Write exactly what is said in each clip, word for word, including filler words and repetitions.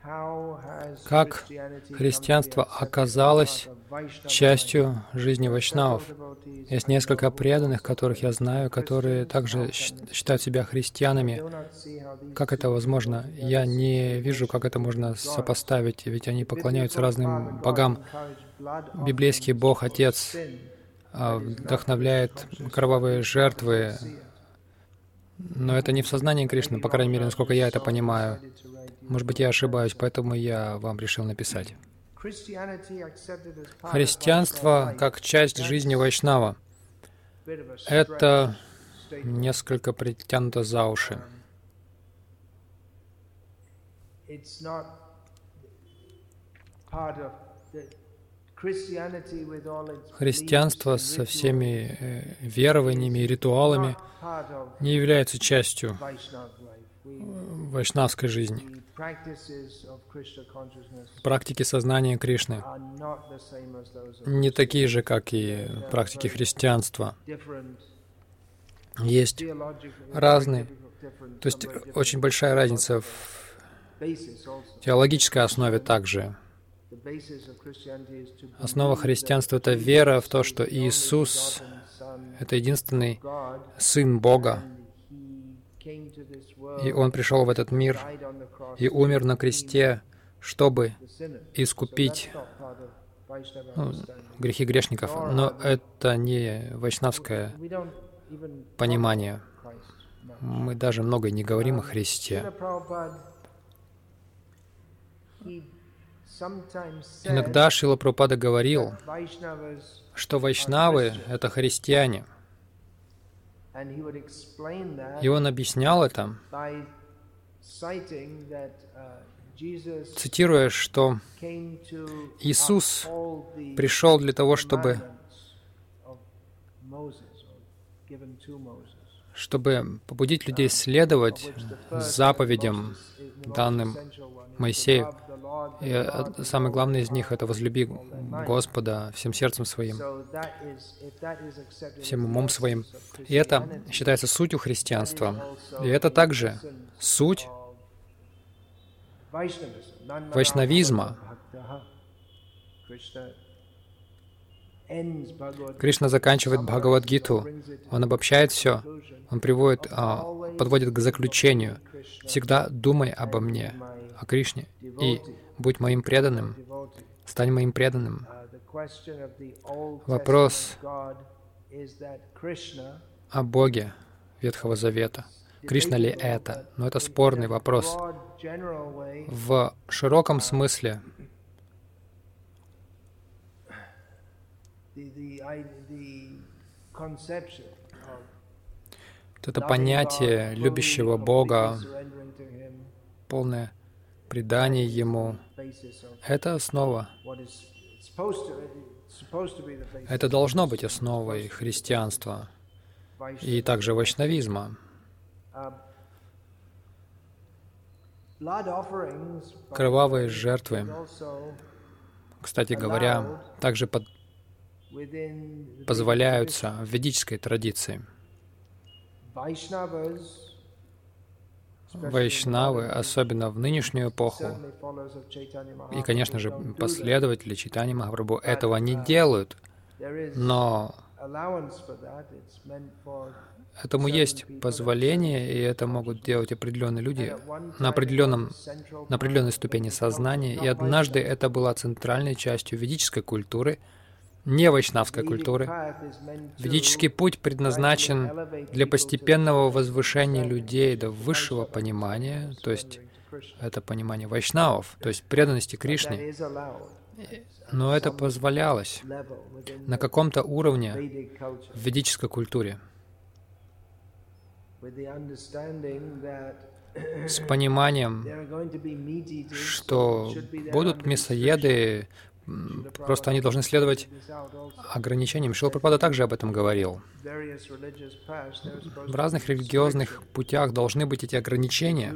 Как христианство оказалось частью жизни вайшнавов? Есть несколько преданных, которых я знаю, которые также считают себя христианами. Как это возможно? Я не вижу, как это можно сопоставить, ведь они поклоняются разным богам. Библейский Бог, Отец, вдохновляет кровавые жертвы, но это не в сознании Кришны, по крайней мере, насколько я это понимаю. Может быть, я ошибаюсь, поэтому я вам решил написать. Христианство как часть жизни вайшнава — это несколько притянуто за уши. Христианство со всеми э, верованиями и ритуалами не является частью вайшнавской жизни. Практики сознания Кришны не такие же, как и практики христианства. Есть разные, то есть очень большая разница в теологической основе также. Основа христианства — это вера в то, что Иисус — это единственный Сын Бога, и Он пришел в этот мир и умер на кресте, чтобы искупить ну, грехи грешников. Но это не вайшнавское понимание. Мы даже много не говорим о Христе. Иногда Шрила Прабхупада говорил, что вайшнавы — это христиане. И он объяснял это, цитируя, что Иисус пришел для того, чтобы, чтобы побудить людей следовать заповедям, данным Моисею. И самое главное из них — это возлюби Господа всем сердцем своим, всем умом своим. И это считается сутью христианства. И это также суть вайшнавизма. Кришна заканчивает Бхагавад-гиту, он обобщает все, он приводит, подводит к заключению. Всегда думай обо мне, о Кришне, и будь моим преданным, стань моим преданным. Вопрос о Боге Ветхого Завета. Кришна ли это? Но это спорный вопрос. В широком смысле это понятие любящего Бога, полное предание Ему, это основа. Это должно быть основой христианства и также вайшнавизма. Кровавые жертвы, кстати говоря, также под... позволяются в ведической традиции. Вайшнавы, особенно в нынешнюю эпоху, и, конечно же, последователи Чайтаньи Махапрабху этого не делают, но этому есть позволение, и это могут делать определенные люди на, определенном, на определенной ступени сознания, и однажды это была центральной частью ведической культуры, не вайшнавской культуры. Ведический путь предназначен для постепенного возвышения людей до высшего понимания, то есть это понимание вайшнавов, то есть преданности Кришне. Но это позволялось на каком-то уровне в ведической культуре. С пониманием, что будут мясоеды, просто они должны следовать ограничениям. Шрила Прабхупада также об этом говорил. В разных религиозных путях должны быть эти ограничения.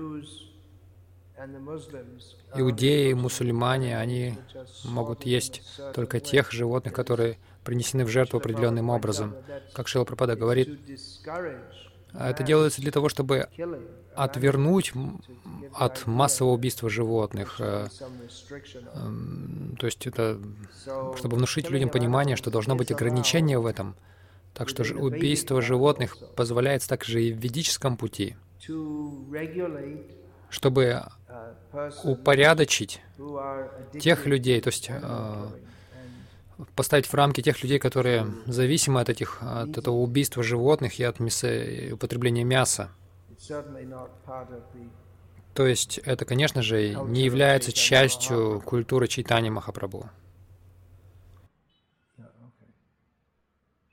Иудеи, мусульмане, они могут есть только тех животных, которые принесены в жертву определенным образом. Как Шрила Прабхупада говорит, А это делается для того, чтобы отвернуть м, от массового убийства животных. э, эм, То есть это, чтобы внушить людям понимание, что должно быть ограничение в этом. Так что ж- убийство животных позволяется также и в ведическом пути, чтобы упорядочить тех людей, то есть э, поставить в рамки тех людей, которые зависимы от этих, от этого убийства животных и от мяса, и употребления мяса. То есть это, конечно же, не является частью культуры Чайтаньи Махапрабху.